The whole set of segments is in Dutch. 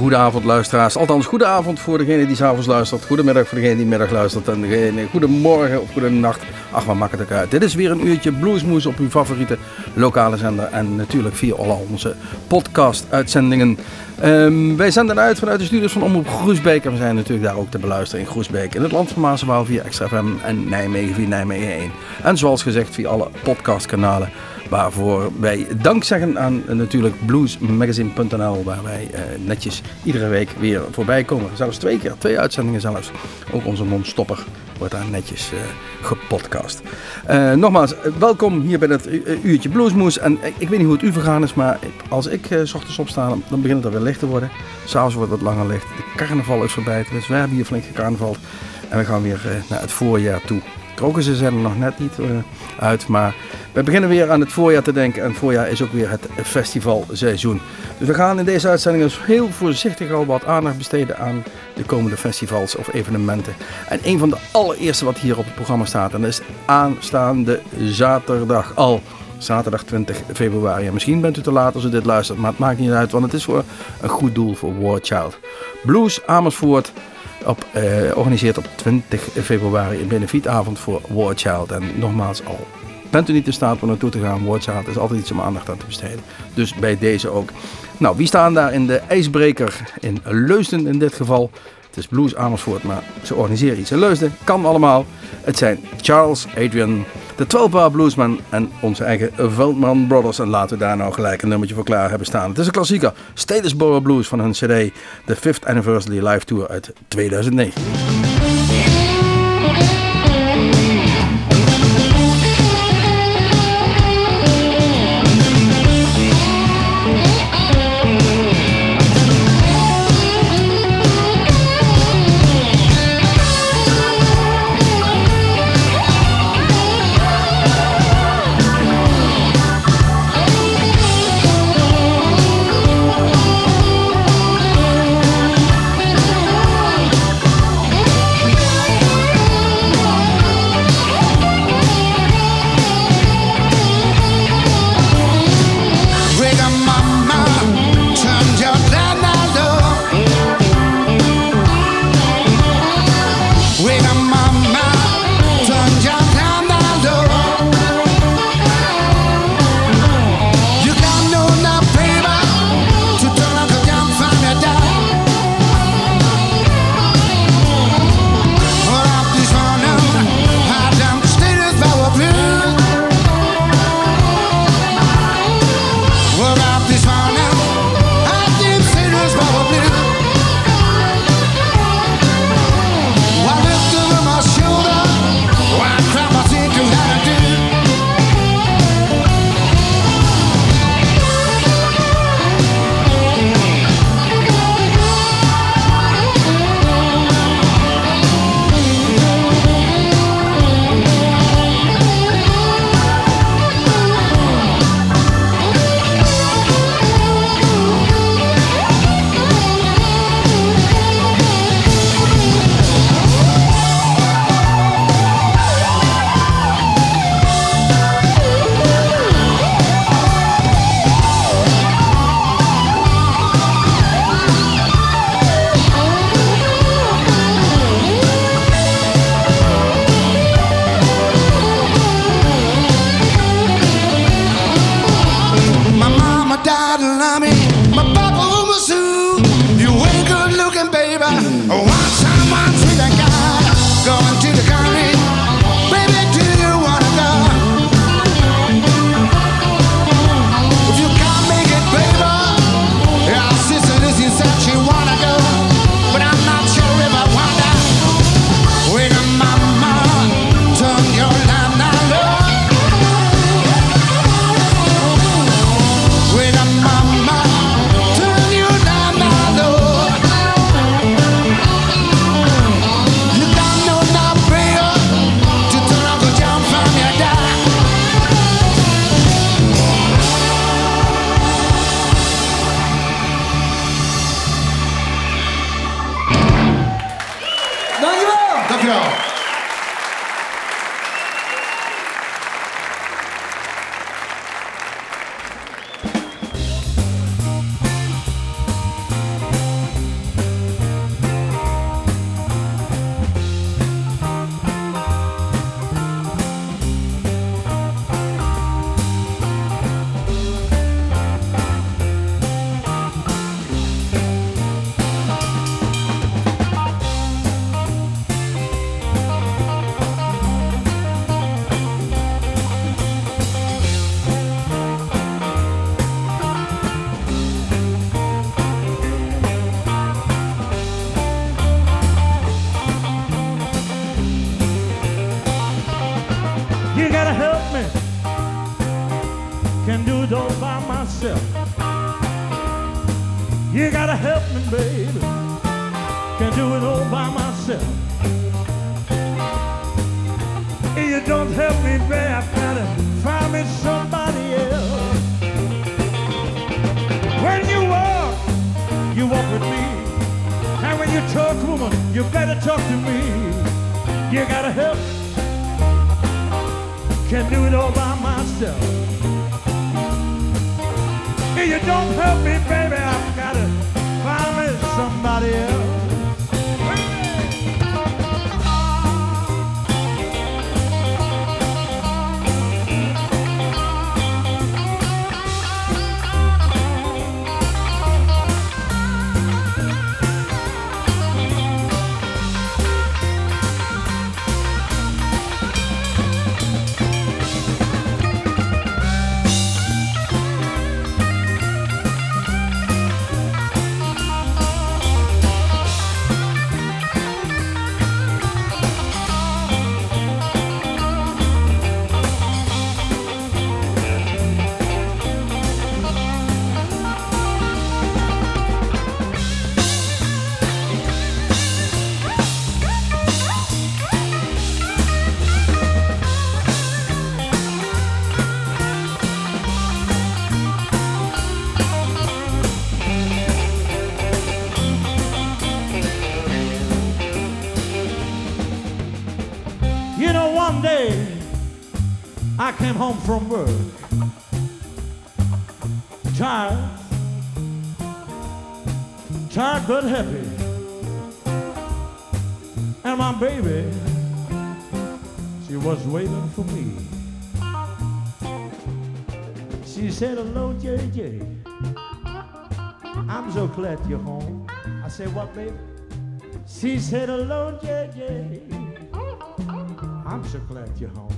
Goedenavond luisteraars, althans goedenavond voor degene die 's avonds luistert, goedemiddag voor degene die middag luistert en degene goedemorgen of goedenacht. Ach, wat maakt het ook uit. Dit is weer een uurtje Bluesmoes op uw favoriete lokale zender en natuurlijk via al onze podcast-uitzendingen. Wij zenden uit vanuit de studios van Omroep Groesbeek en we zijn natuurlijk daar ook te beluisteren in Groesbeek, in het land van Maas en Waal via Extra FM en Nijmegen via Nijmegen 1. En zoals gezegd via alle podcastkanalen. Waarvoor wij dank zeggen aan natuurlijk bluesmagazine.nl, waar wij netjes iedere week weer voorbij komen. Zelfs 2 keer, 2 uitzendingen zelfs. Ook onze non-stopper wordt daar netjes gepodcast. Nogmaals, welkom hier bij het uurtje Bluesmoes. En ik weet niet hoe het u vergaan is, maar als ik 's ochtends opsta, dan begint het alweer licht te worden. S'avonds wordt het wat langer licht. De carnaval is voorbij, dus we hebben hier flink gecarnavald. En we gaan weer naar het voorjaar toe. Krokussen zijn er nog net niet uit, maar we beginnen weer aan het voorjaar te denken. En het voorjaar is ook weer het festivalseizoen. Dus we gaan in deze uitzending dus heel voorzichtig al wat aandacht besteden aan de komende festivals of evenementen. En een van de allereerste wat hier op het programma staat, en dat is aanstaande zaterdag al. Zaterdag 20 februari. En misschien bent u te laat als u dit luistert, maar het maakt niet uit, want het is voor een goed doel voor War Child. Blues Amersfoort organiseert op 20 februari een benefietavond voor War Child. En nogmaals, al bent u niet in staat om naartoe te gaan, War Child is altijd iets om aandacht aan te besteden. Dus bij deze ook. Nou, wie staan daar in de ijsbreker? In Leusden in dit geval. Het is Blues Amersfoort, maar ze organiseren iets in Leusden. Kan allemaal. Het zijn Charles, Adrian, de 12-bar bluesman en onze eigen Veldman Brothers. En laten we daar nou gelijk een nummertje voor klaar hebben staan. Het is een klassieker. Statesboro Blues van hun CD. De 5th Anniversary Live Tour uit 2009. baby. Can't do it all by myself. If you don't help me, baby, I've gotta find me somebody else. When you walk with me. And when you talk, woman, you better talk to me. You gotta help. Can't do it all by myself. If you don't help me, baby, I've gotta find me somebody else. One day I came home from work, tired but happy, and my baby, she was waiting for me. She said, "Hello, JJ, I'm so glad you're home." I said, "What, baby?" She said, "Hello, JJ, I'm so glad you're home.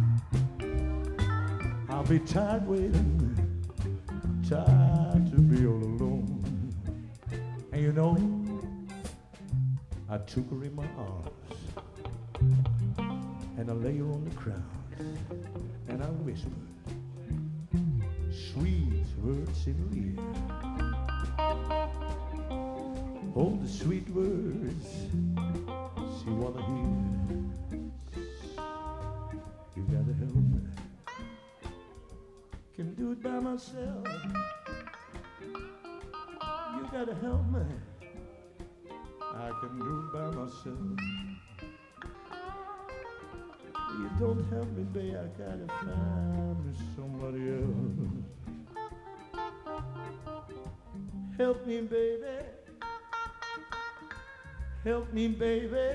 I'll be tired waiting, tired to be all alone." And you know, I took her in my arms and I lay her on the ground and I whispered sweet words in her ear. All the sweet words she wanna hear. You gotta help me. Can do it by myself. You gotta help me. I can do it by myself. You don't help me, babe. I gotta find me somebody else. Help me, baby. Help me, baby.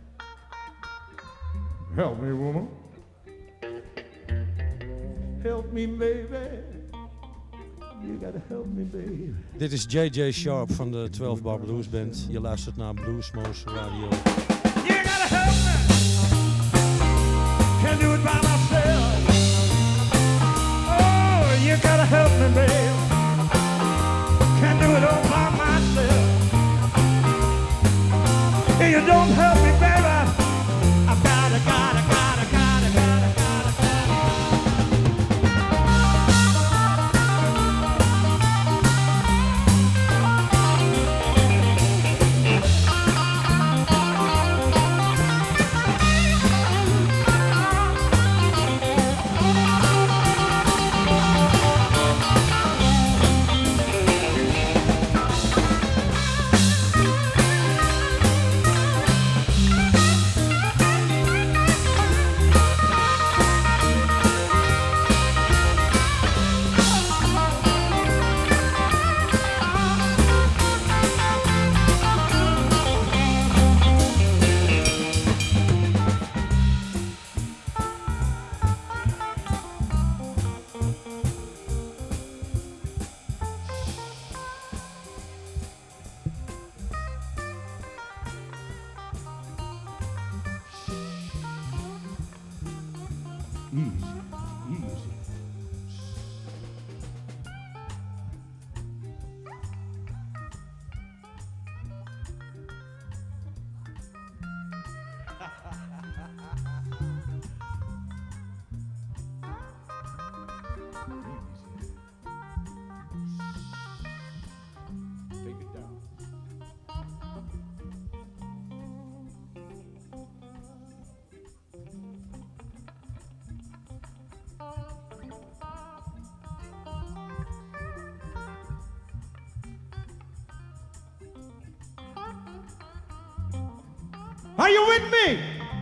Help me, woman. Help me, baby. You gotta help me, baby. Dit is J.J. Sharp van de 12 Bar Blues Band. Je luistert naar Bluesmoose Radio. You gotta help me. Can't do it by myself. Oh, you gotta help me, baby. Can't do it all by myself. If you don't help me, baby, I've gotta. Are you with me?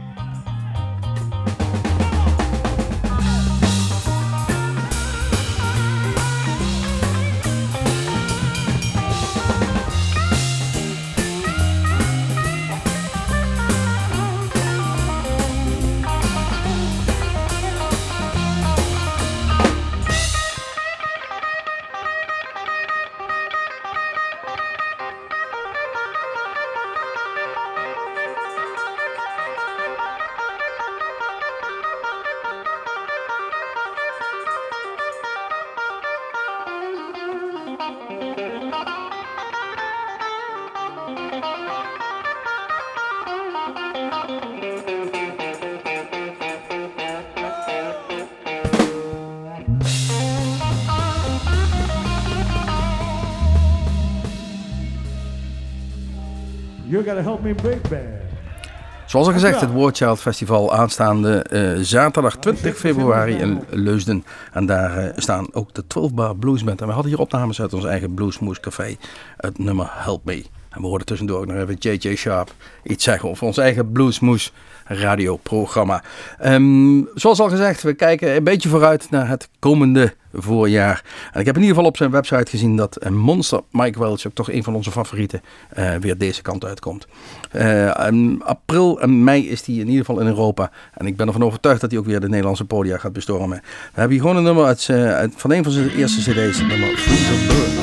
You gotta help me big band. Zoals al gezegd, het War Child Festival aanstaande zaterdag 20 februari in Leusden. En daar staan ook de 12 Bar Blues Band. En we hadden hier opnames uit ons eigen Bluesmoose Café, het nummer Help Me. En we hoorden tussendoor ook nog even J.J. Sharp iets zeggen over ons eigen Bluesmoose radioprogramma. Zoals al gezegd, we kijken een beetje vooruit naar het komende voorjaar. En ik heb in ieder geval op zijn website gezien dat Monster Mike Welch, ook toch een van onze favorieten, weer deze kant uitkomt. April en mei is hij in ieder geval in Europa. En ik ben ervan overtuigd dat hij ook weer de Nederlandse podia gaat bestormen. We hebben hier gewoon een nummer van een van zijn eerste cd's, het nummer Fruits of Burn.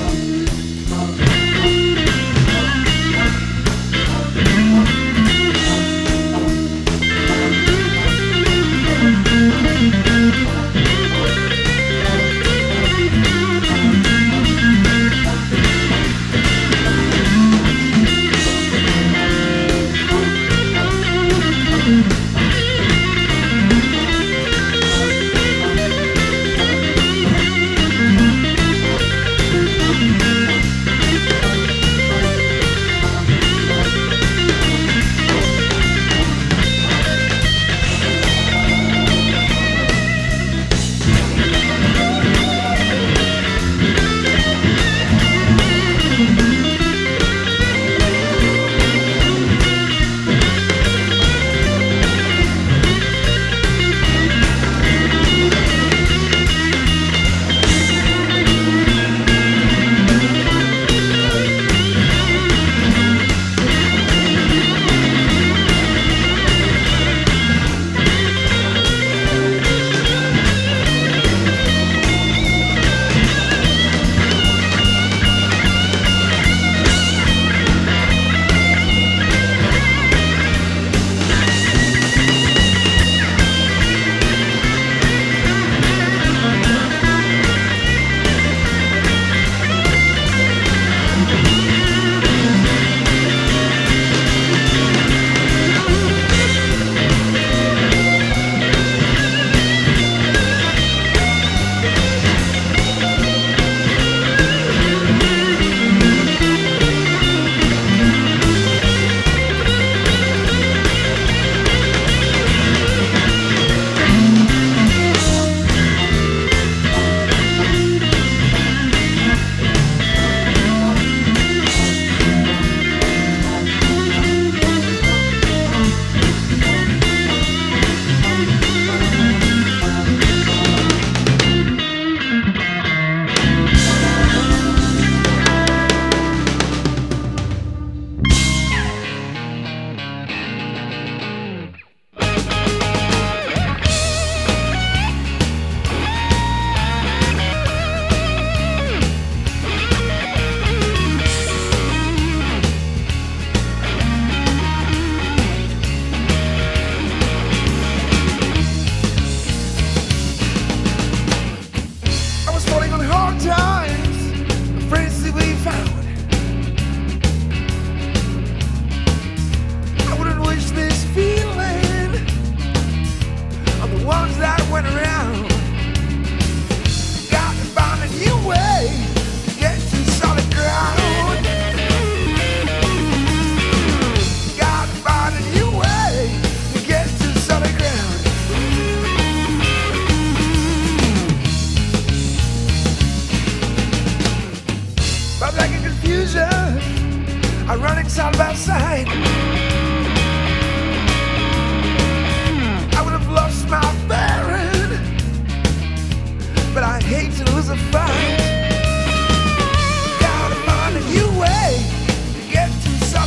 are running side by side.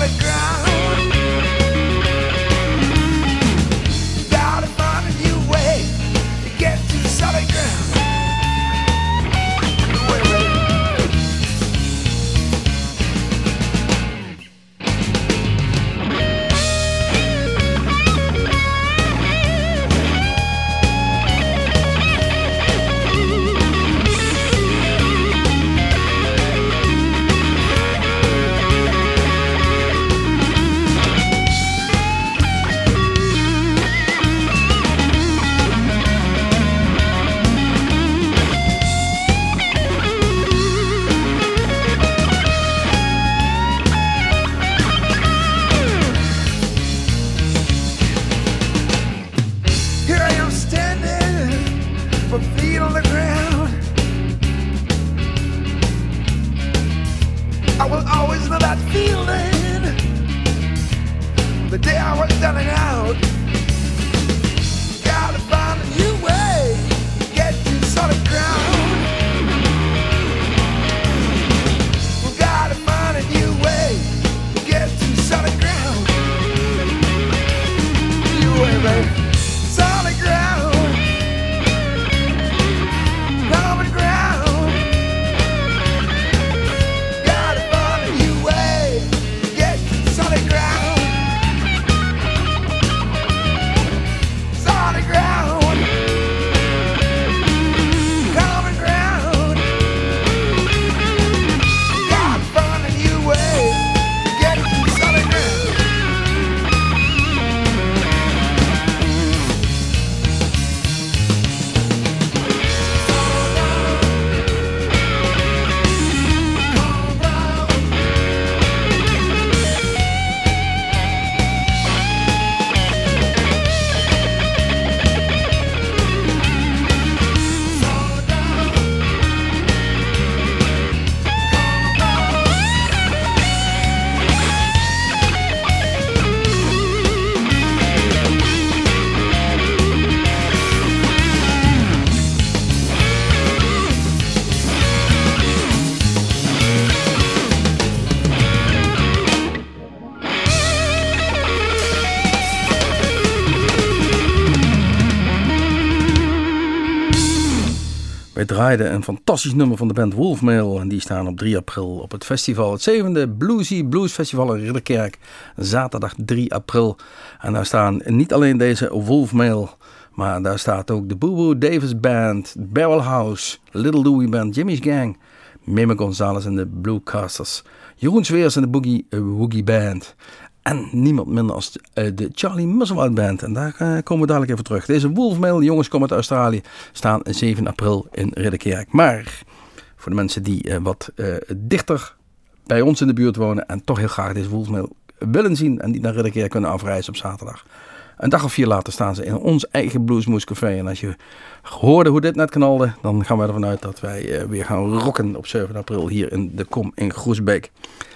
solid ground. Gotta find a new way to get to solid ground. Wij draaiden een fantastisch nummer van de band Wolfmail. En die staan op 3 april op het festival. Het 7e Bluesy Blues Festival in Ridderkerk. Zaterdag 3 april. En daar staan niet alleen deze Wolfmail. Maar daar staat ook de Boo Boo Davis Band. Barrel House. Little Louie Band. Jimmy's Gang. Meme Gonzalez en de Bluecasters. Jeroen Zweers en de Boogie Woogie Band. En niemand minder als de Charlie Musselwhite Band. En daar komen we dadelijk even terug. Deze Wolfmail, jongens komen uit Australië, staan 7 april in Ridderkerk. Maar voor de mensen die wat dichter bij ons in de buurt wonen en toch heel graag deze Wolfmail willen zien en die naar Ridderkerk kunnen afreizen op zaterdag. Een dag of 4 later staan ze in ons eigen Bluesmoose Café. En als je hoorde hoe dit net knalde, dan gaan we ervan uit dat wij weer gaan rocken op 7 april hier in de Kom in Groesbeek.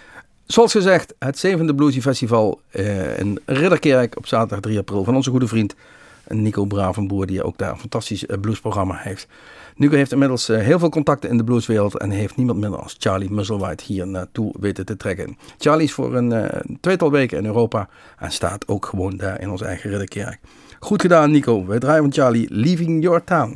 Zoals gezegd, het 7e Bluesy Festival in Ridderkerk op zaterdag 3 april van onze goede vriend Nico Bravenboer, die ook daar een fantastisch bluesprogramma heeft. Nico heeft inmiddels heel veel contacten in de blueswereld en heeft niemand minder als Charlie Musselwhite hier naartoe weten te trekken. Charlie is voor een 2-tal weken in Europa en staat ook gewoon daar in ons eigen Ridderkerk. Goed gedaan, Nico. Wij draaien van Charlie Leaving Your Town.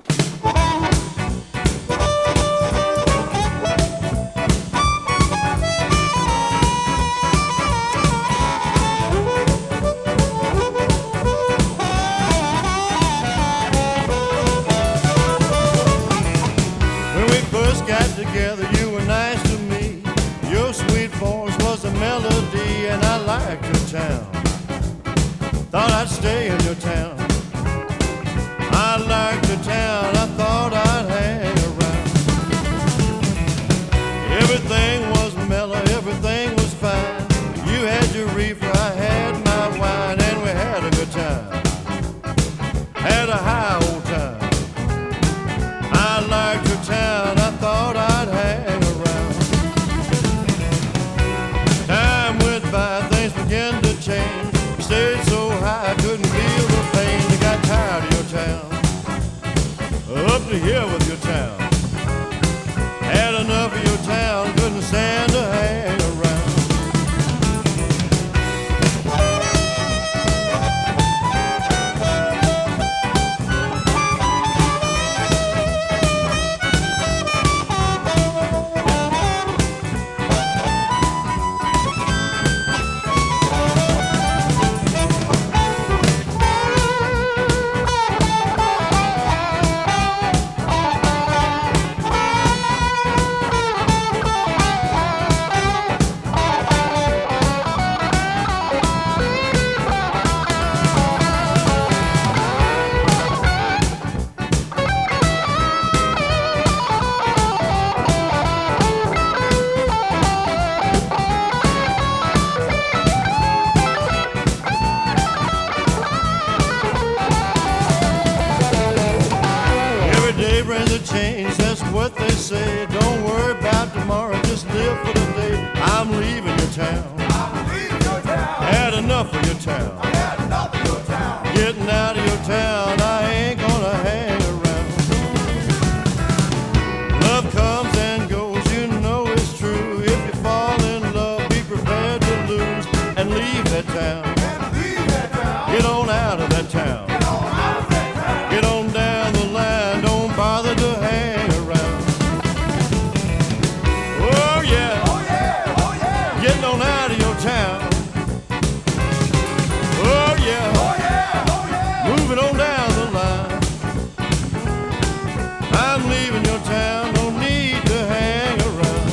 Together, you were nice to me. Your sweet voice was a melody, and I liked your town. Thought I'd stay in your town. I liked your town. I thought I'd hang around. Everything was mellow, everything was fine. You had your reefer, I had my wine, and we had a good time. Had a high old time. I liked your town. I thought I'd hang around. Time went by, things began to change. Stayed so high, I couldn't feel the pain. I got tired of your town. Up to here with your town. Had enough of your town, couldn't stand to hang around. say, don't worry about tomorrow, just live for the day. I'm leaving your town. Had enough of your town. Getting out of your town, I ain't gonna hang around. Love comes and goes, you know it's true. If you fall in love, be prepared to lose and leave that town. Get on out of that town. Get on down the line, don't bother to hang around. Oh yeah, getting on out of your town. Oh yeah, moving on down the line. I'm leaving your town, no need to hang around.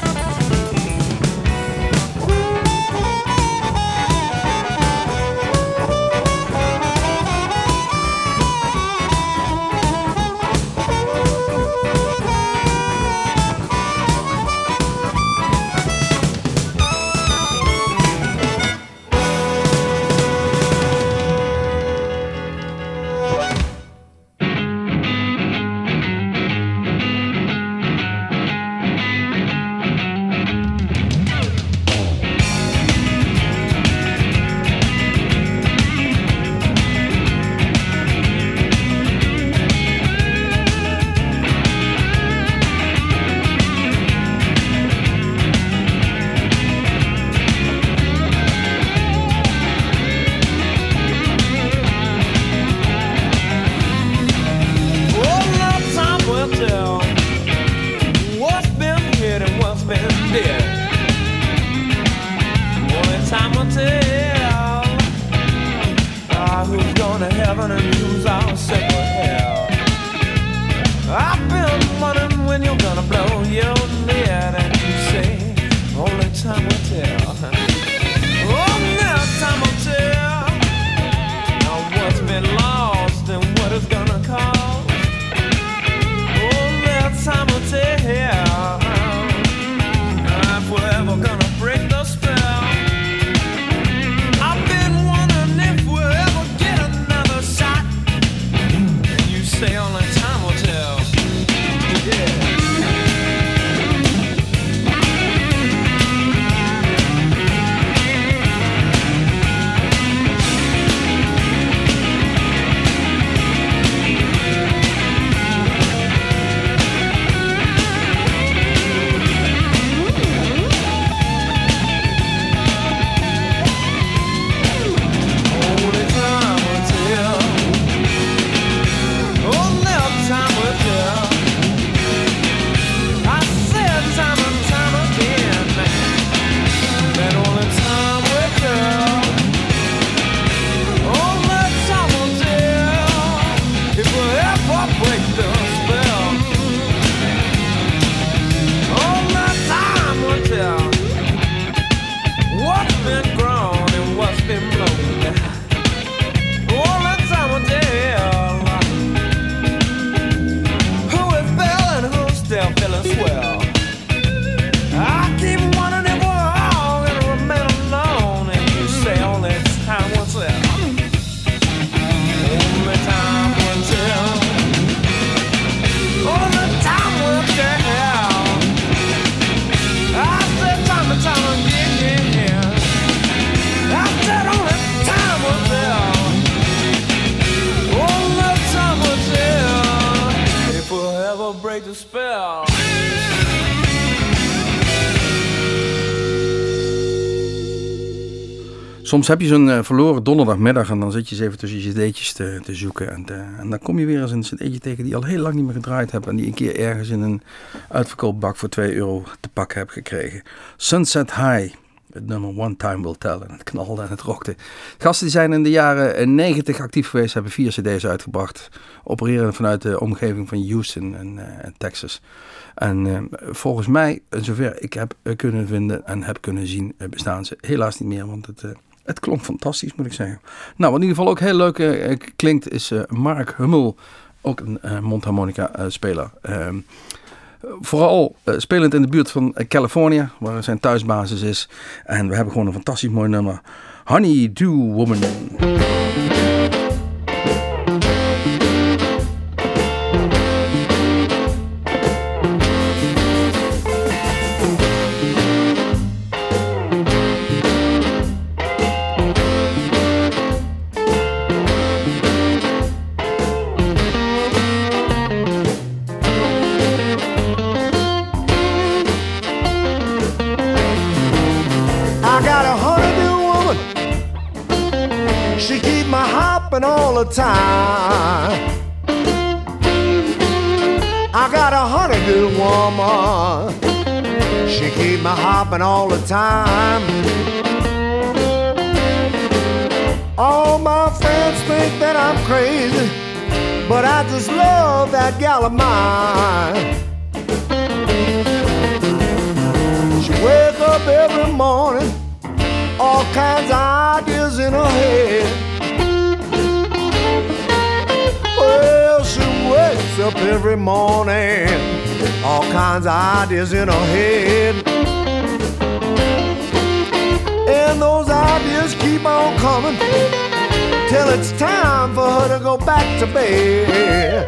Soms heb je zo'n verloren donderdagmiddag en dan zit je eens even tussen je cd'tjes te zoeken. En dan kom je weer eens een cd'tje tegen die je al heel lang niet meer gedraaid hebt. En die een keer ergens in een uitverkoopbak voor €2 te pakken hebt gekregen. Sunset High, het nummer One Time Will Tell. En het knalde en het rockte. Gasten die zijn in de jaren 90 actief geweest, hebben 4 cd's uitgebracht. Opereren vanuit de omgeving van Houston en Texas. En volgens mij, zover ik heb kunnen vinden en heb kunnen zien, bestaan ze helaas niet meer. Want het klonk fantastisch, moet ik zeggen. Nou, wat in ieder geval ook heel leuk klinkt, is Mark Hummel. Ook een mondharmonica speler. Vooral spelend in de buurt van Californië, waar zijn thuisbasis is. En we hebben gewoon een fantastisch mooi nummer. Honey Do Woman. hopping all the time. I got a honeydew woman. She keep me hopping all the time. All my friends think that I'm crazy, but I just love that gal of mine. She wake up every morning, all kinds of ideas in her head. Well, she wakes up every morning, all kinds of ideas in her head. And those ideas keep on coming till it's time for her to go back to bed.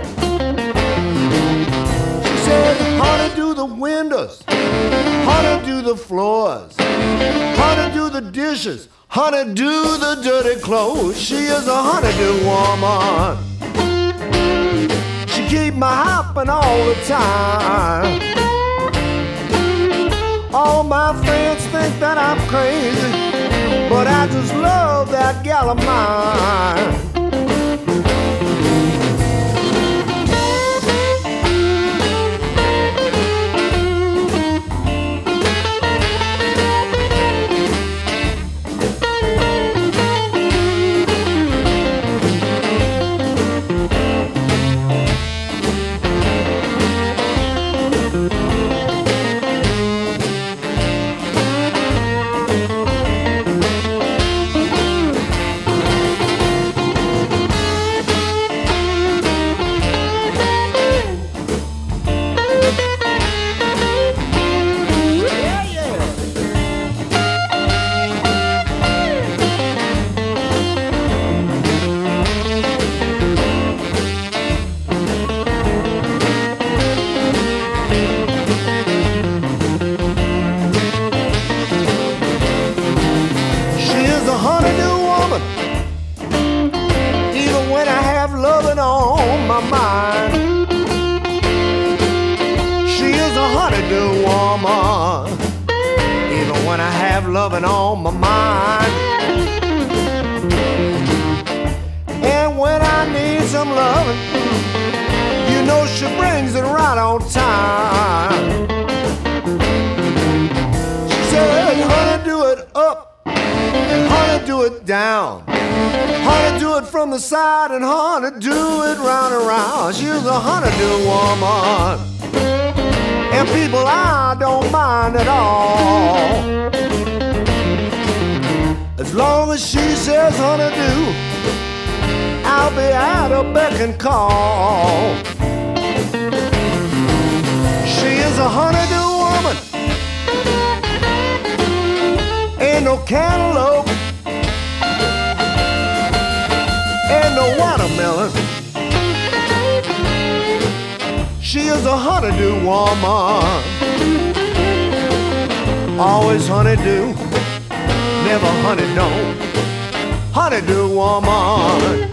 She said, honey, do the windows, honey, do the floors, honey, do the dishes, honey, do the dirty clothes. She is a honeydew woman. She keep me hopping all the time. All my friends think that I'm crazy, but I just love that gal of mine. Loving on my mind. And when I need some loving, you know she brings it right on time. She said, honey, do it up, and honey, do it down. Honey, do it from the side, and honey, do it round and round. She's a honeydew woman, and people I don't mind at all. As long as she says honeydew, I'll be at her beck and call. She is a honeydew woman, ain't no cantaloupe, ain't no watermelon. She is a honeydew woman, always honeydew, never honey don't, honeydew woman.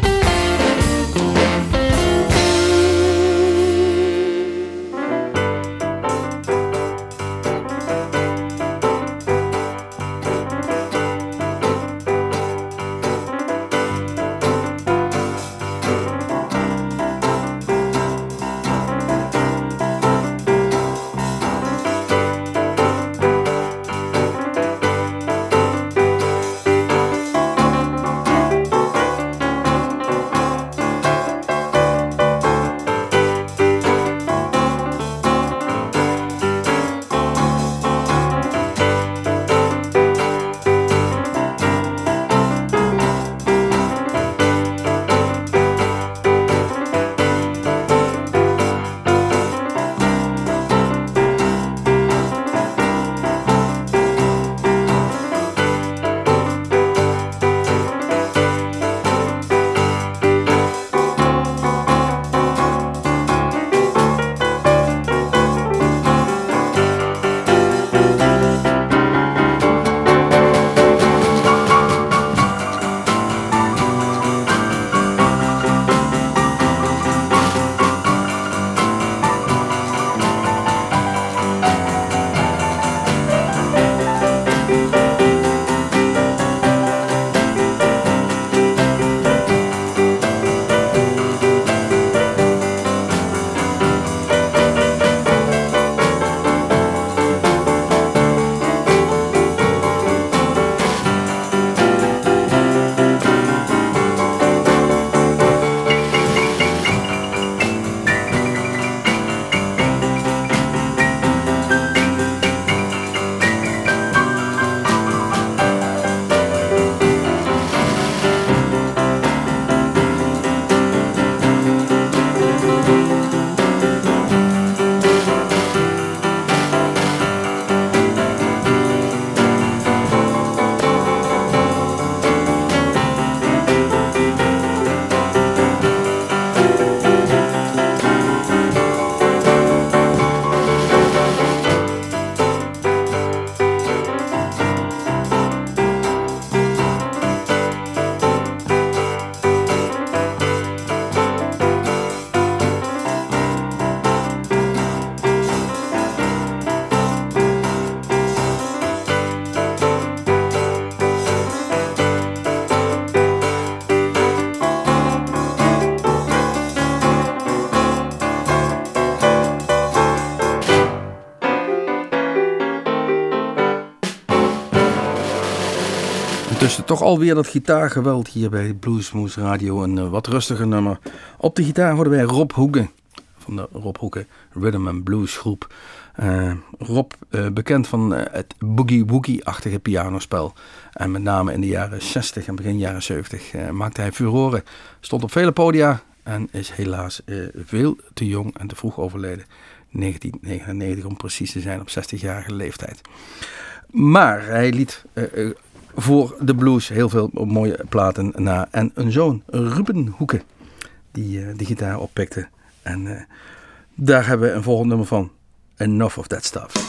Ondertussen toch alweer dat gitaargeweld hier bij Bluesmoose Radio. Een wat rustiger nummer. Op de gitaar hoorden wij Rob Hoeken van de Rob Hoeken Rhythm and Blues groep. Rob, bekend van het boogie-woogie-achtige pianospel. En met name in de jaren 60 en begin jaren 70 maakte hij furoren. Stond op vele podia en is helaas veel te jong en te vroeg overleden. 1999 om precies te zijn, op 60-jarige leeftijd. Maar hij liet voor de blues heel veel mooie platen na. En een zoon, Ruben Hoeken, die de gitaar oppikte. En daar hebben we een volgend nummer van. Enough of That Stuff.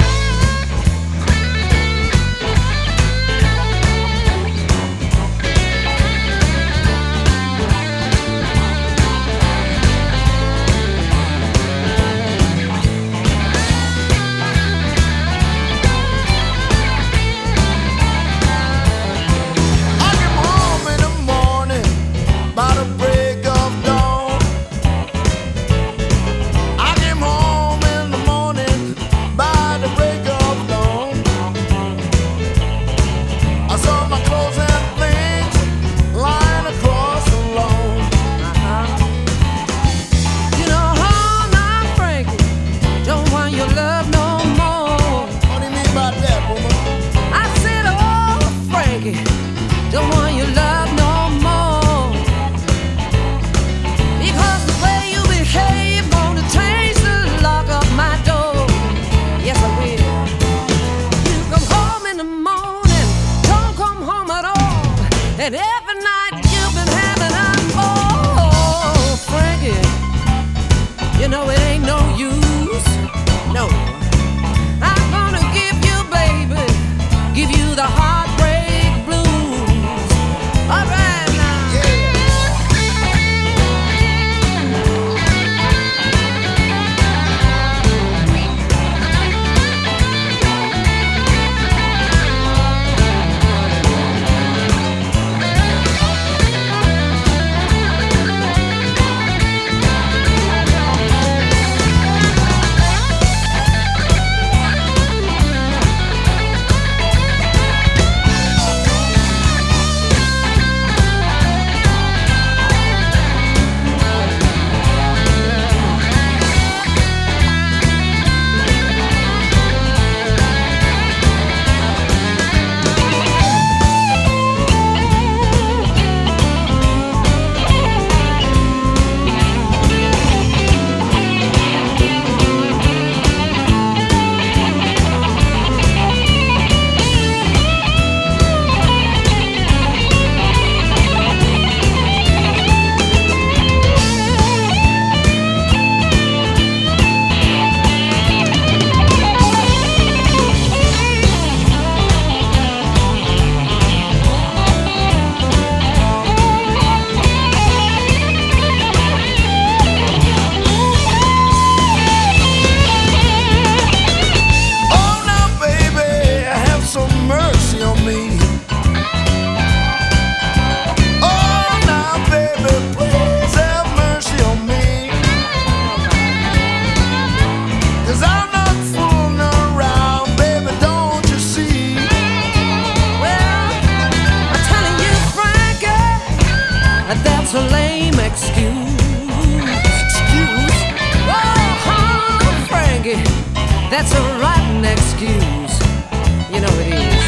That's a rotten excuse. You know it is.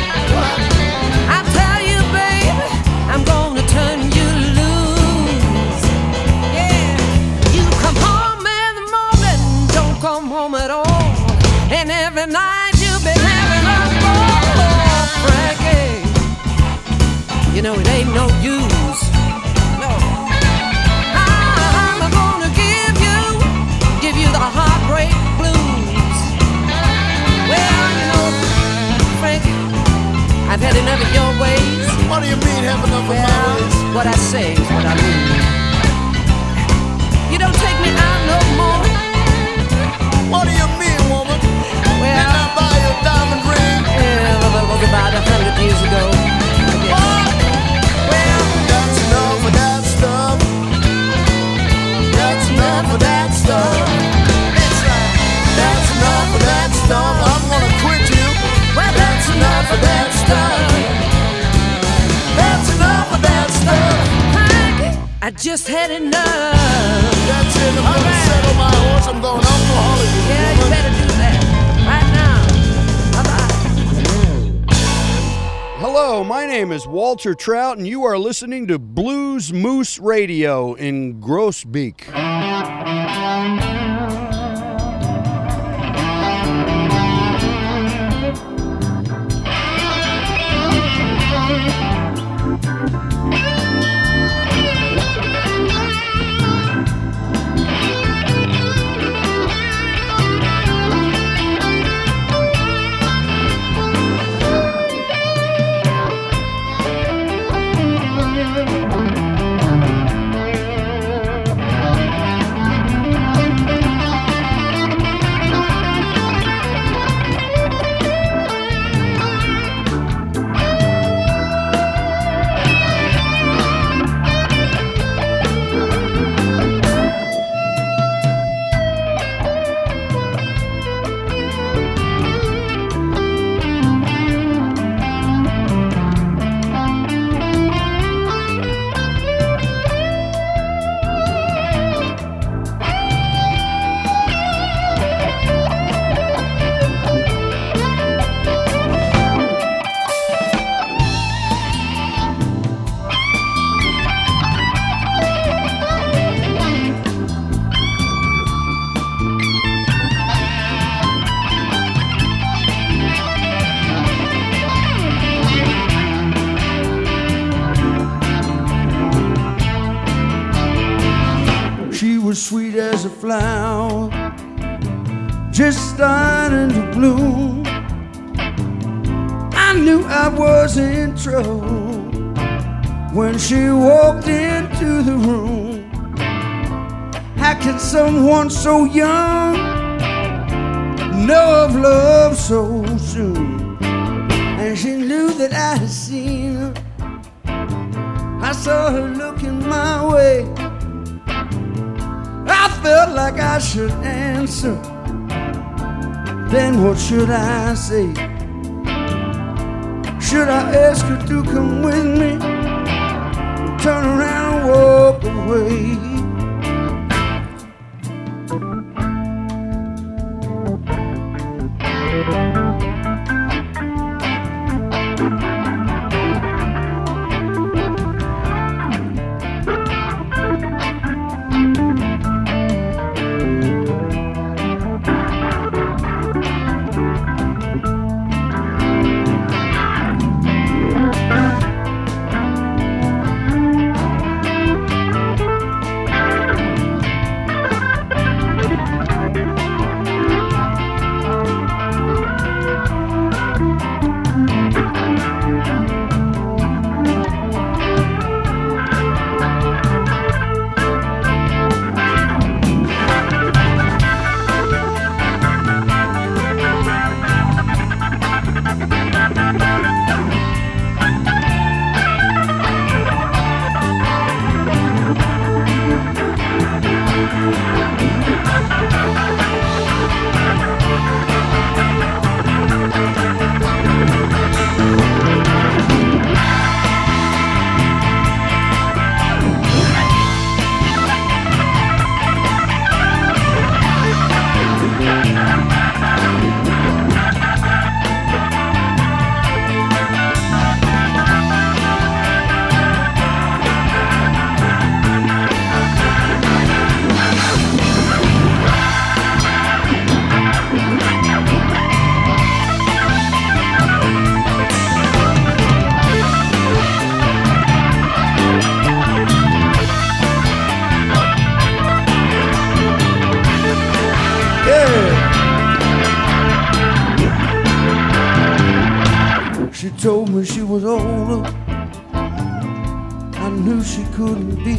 I tell you, baby, I'm gonna turn you loose. Yeah, you come home in the morning, don't come home at all. And every night you've been having a ball, Frankie. You know it ain't no use. No. I'm gonna give you the heartbreak blues. Well, you know, Frank, I've had enough of your ways. What do you mean, have enough of my ways? What I say is what I mean. You don't take me out no more. What do you mean, woman? Well, didn't I buy you a diamond ring? Yeah, well, was about 100 years ago. What? Well, that's enough of that stuff. That's enough of that stuff. That's right. That's enough of that stuff. I'm gonna quit you. Well, That's enough of that stuff. I just had enough. That's it. I'm gonna settle my horse. I'm going off to Hollywood. Yeah, you better do that right now. Bye-bye. Hello, my name is Walter Trout, and you are listening to Blues Moose Radio in Groesbeek. Sweet as a flower, just starting to bloom. I knew I was in trouble when she walked into the room. How can someone so young know of love so soon? And she knew that I had seen her. I saw her looking my way. I felt like I should answer. Then what should I say? Should I ask her to come with me? Turn around and walk away? Told me she was older, I knew she couldn't be.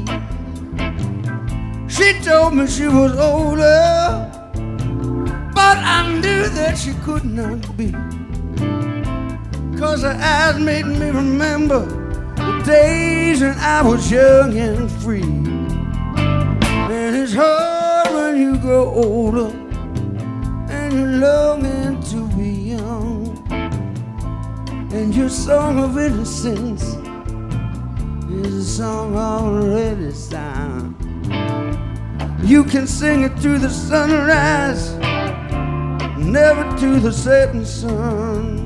She told me she was older, but I knew that she could not be. 'Cause her eyes made me remember the days when I was young and free. And it's hard when you grow older and you're longing to be young. And your song of innocence There's a song already sound. You can sing it to the sunrise, never to the setting sun.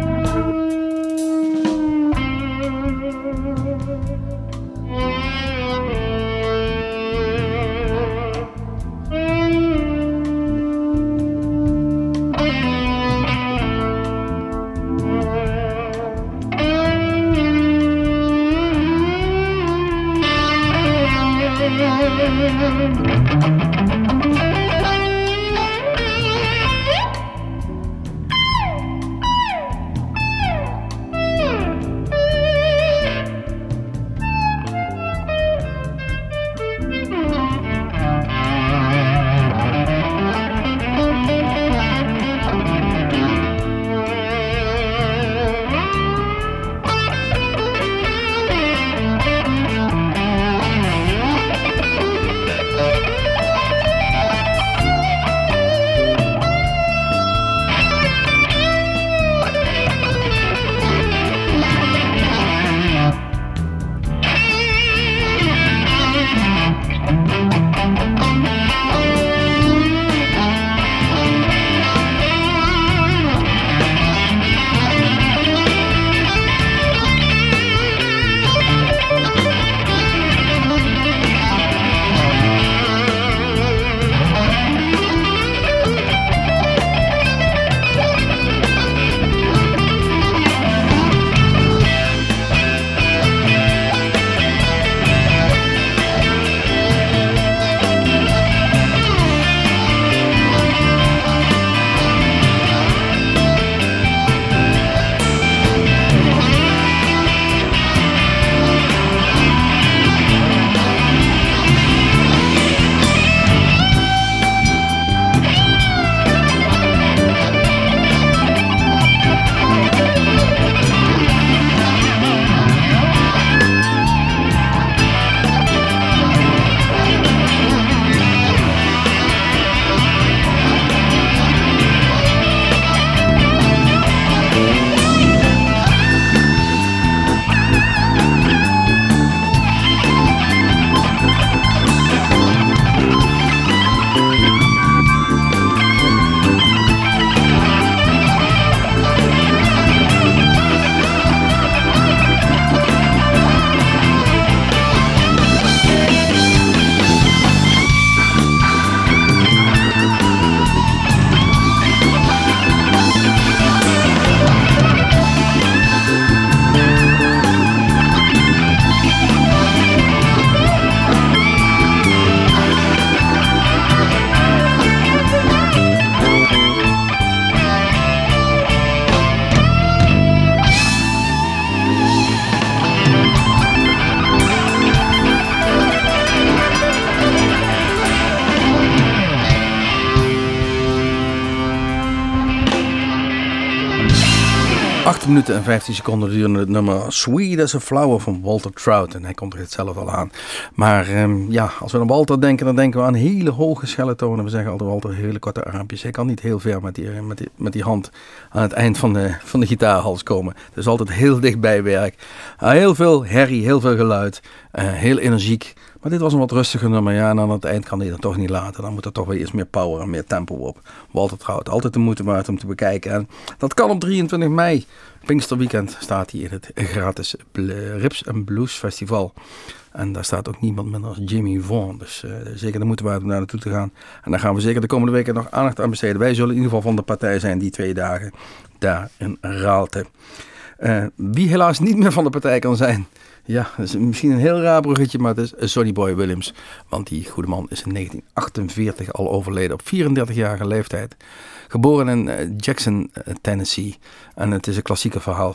Minuten en 15 seconden durende het nummer Sweet as a Flower van Walter Trout. En hij komt er het zelf al aan. Maar als we aan Walter denken, dan denken we aan hele hoge schelle tonen. We zeggen altijd Walter hele korte armpjes. Hij kan niet heel ver met die hand aan het eind van de gitaarhals komen. Het is altijd heel dichtbij werk. Heel veel herrie, heel veel geluid. Heel energiek. Maar dit was een wat rustiger nummer. Ja, en aan het eind kan hij dat toch niet laten. Dan moet er toch weer iets meer power en meer tempo op. Walter Trout, altijd de moeite waard om te bekijken. En dat kan op 23 mei. Pinksterweekend staat hij in het gratis Rips and Blues Festival. En daar staat ook niemand minder als Jimmy Vaughan. Dus zeker de moeite waard om daar naartoe te gaan. En daar gaan we zeker de komende weken nog aandacht aan besteden. Wij zullen in ieder geval van de partij zijn die 2 dagen daar in Raalte. Wie helaas niet meer van de partij kan zijn. Ja, dat is misschien een heel raar bruggetje, maar het is Sonny Boy Williams. Want die goede man is in 1948 al overleden op 34-jarige leeftijd. Geboren in Jackson, Tennessee. En het is een klassieke verhaal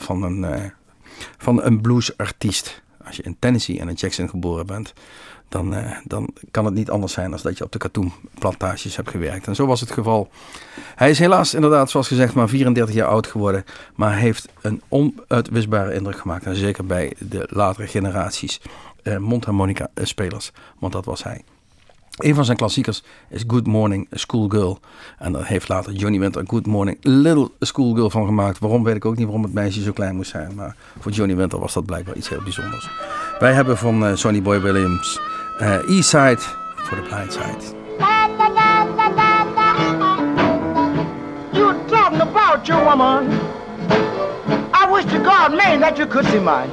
van een bluesartiest. Als je in Tennessee en in Jackson geboren bent, dan kan het niet anders zijn dan dat je op de katoenplantages hebt gewerkt. En zo was het geval. Hij is helaas inderdaad, zoals gezegd, maar 34 jaar oud geworden. Maar heeft een onuitwisbare indruk gemaakt. En zeker bij de latere generaties mondharmonica spelers. Want dat was hij. Een van zijn klassiekers is Good Morning Schoolgirl. En daar heeft later Johnny Winter Good Morning Little Schoolgirl van gemaakt. Waarom weet ik ook niet, waarom het meisje zo klein moest zijn. Maar voor Johnny Winter was dat blijkbaar iets heel bijzonders. Wij hebben van Sonny Boy Williams Eastside for the Blind Side. You talking about your woman. I wish to God, man, that you could see mine.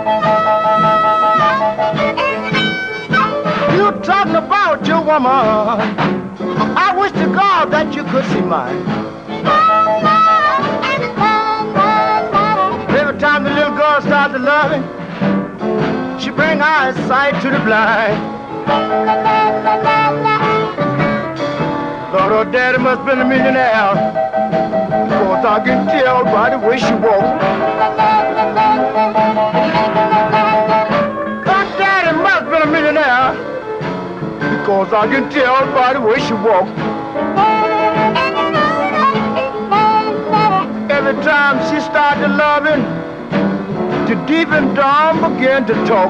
You talking about your woman. I wish to God that you could see mine. Every time the little girl starts to love him, she bring eyesight to the blind. Lord, her daddy must have been a millionaire, because I can tell by the way she walks. Her daddy must have been a millionaire, because I can tell by the way she walks. Every time she started loving, the deep and dumb began to talk.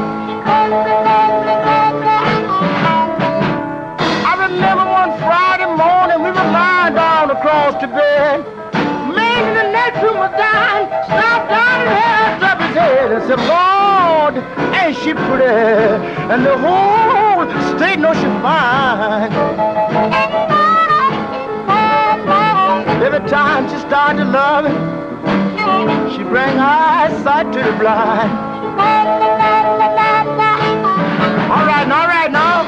I remember one Friday morning we were lying down across the bed. Man in the next room was dying, stopped down and held up his head and said, Lord, ain't she pretty? And the whole state knows she's fine. Every time she started loving, she bring eyesight to the blind. All right now.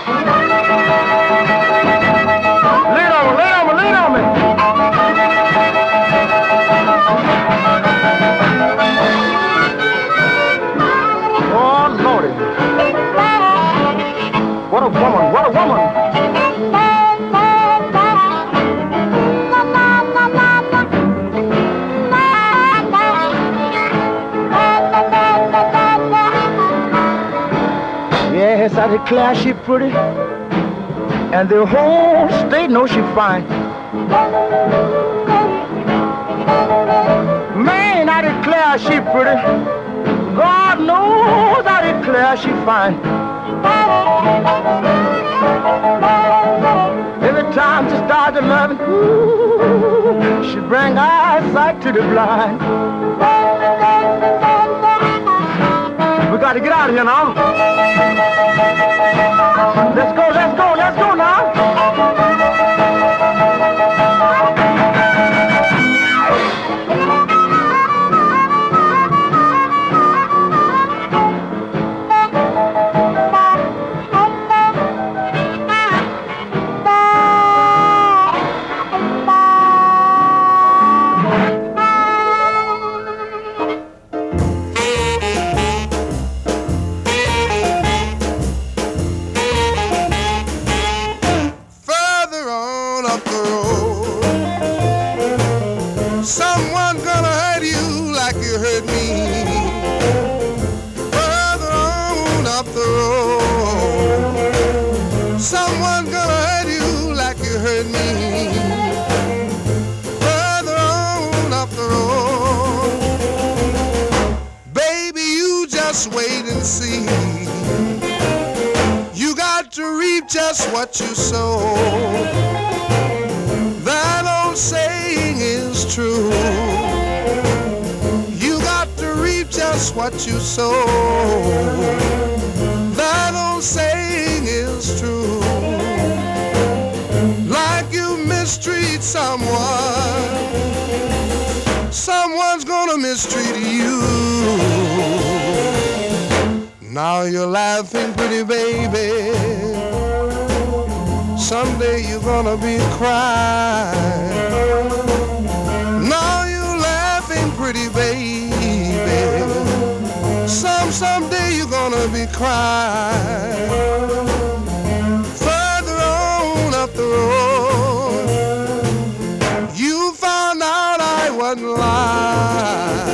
Lean on me. Oh, Lordy. What a woman. Yes, I declare she pretty, and the whole state knows she fine. Man, I declare she pretty. God knows I declare she fine. Every time she starts to love it, ooh, she bring eyesight to the blind. We got to get out of here now. Let's go now. Just what you sow. That old saying is true. You got to reap just what you sow. That old saying is true. Like you mistreat someone, someone's gonna mistreat you. Now you're laughing, pretty baby. Someday you're gonna be crying. Now you're laughing, pretty baby. Someday you're gonna be crying. Further on up the road, you found out I wasn't lying.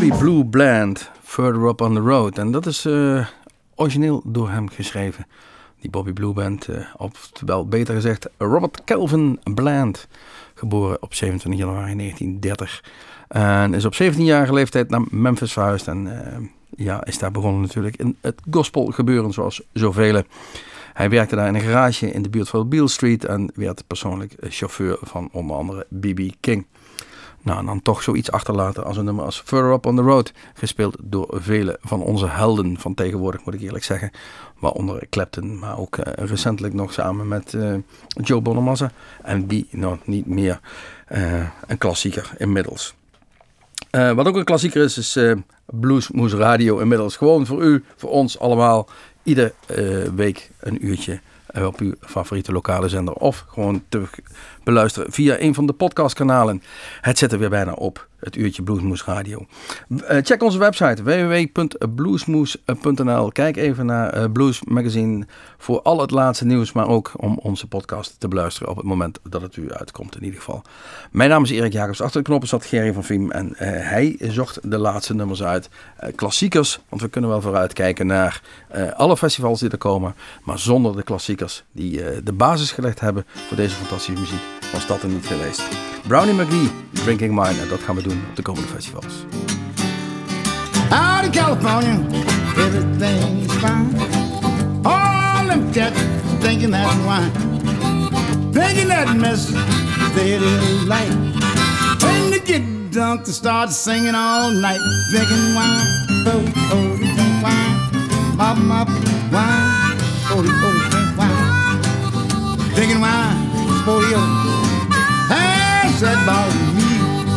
Bobby Blue Bland, Further Up on the Road. En dat is origineel door hem geschreven. Die Bobby Blue Band, oftewel beter gezegd Robert Calvin Bland. Geboren op 27 januari 1930. En is op 17-jarige leeftijd naar Memphis verhuisd. En is daar begonnen natuurlijk in het gospel gebeuren zoals zoveel. Hij werkte daar in een garage in de buurt van Beale Street. En werd persoonlijk chauffeur van onder andere B.B. King. Nou, en dan toch zoiets achterlaten als een nummer als Further Up on the Road. Gespeeld door vele van onze helden van tegenwoordig, moet ik eerlijk zeggen. Waaronder Clapton, maar ook recentelijk nog samen met Joe Bonamassa. En wie nog niet meer een klassieker inmiddels. Wat ook een klassieker is Bluesmoose Radio inmiddels. Gewoon voor u, voor ons allemaal. Iedere week een uurtje op uw favoriete lokale zender. Of gewoon te beluisteren via een van de podcastkanalen. Het zit er weer bijna op. Het uurtje Bluesmoose Radio. Check onze website www.bluesmoose.nl. Kijk even naar Blues Magazine voor al het laatste nieuws. Maar ook om onze podcast te beluisteren op het moment dat het u uitkomt in ieder geval. Mijn naam is Erik Jacobs. Achter de knoppen zat Gerry van Viem. En hij zocht de laatste nummers uit. Klassiekers. Want we kunnen wel vooruitkijken naar alle festivals die er komen. Maar zonder de klassiekers die de basis gelegd hebben voor deze fantastische muziek. Was dat er niet geweest. Brownie McGee, Drinking Wine. En dat gaan we doen op de komende festivals. Out in California, everything's fine. All them cats thinking that's wine. Thinking that mess, steady light. When they get drunk, they start singing all night. Drinking wine, oh, drink wine. Mop, wine, oh, drink wine. Drinking wine, sporty, has that about me.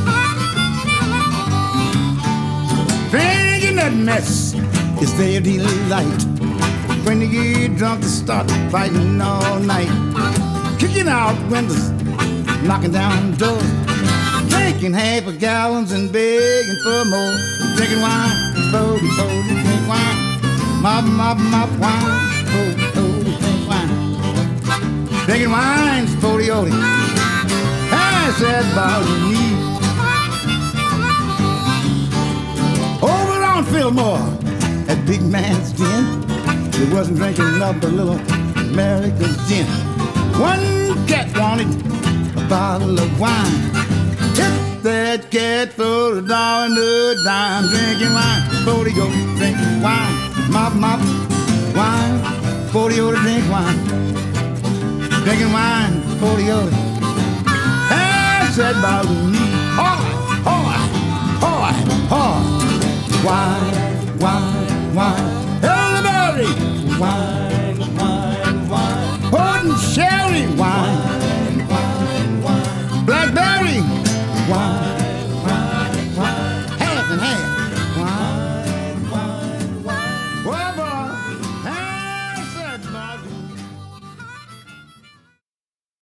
Drinking that mess is their delight. When they get drunk, they start fighting all night. Kicking out windows, knocking down doors. Drinking half a gallons and begging for more. Drinking wine, drink wine. Mop, wine, drink wine. Drinking wine, sporty, said about me. Over on Fillmore, that big man's den, he wasn't drinking up a little America's gin. One cat wanted a bottle of wine. Hit that cat for the dollar and a dime. Drinking wine, 40 go drinking wine. Mop, wine, 40 to drink wine. Drinking wine, 40 said about me. Oh.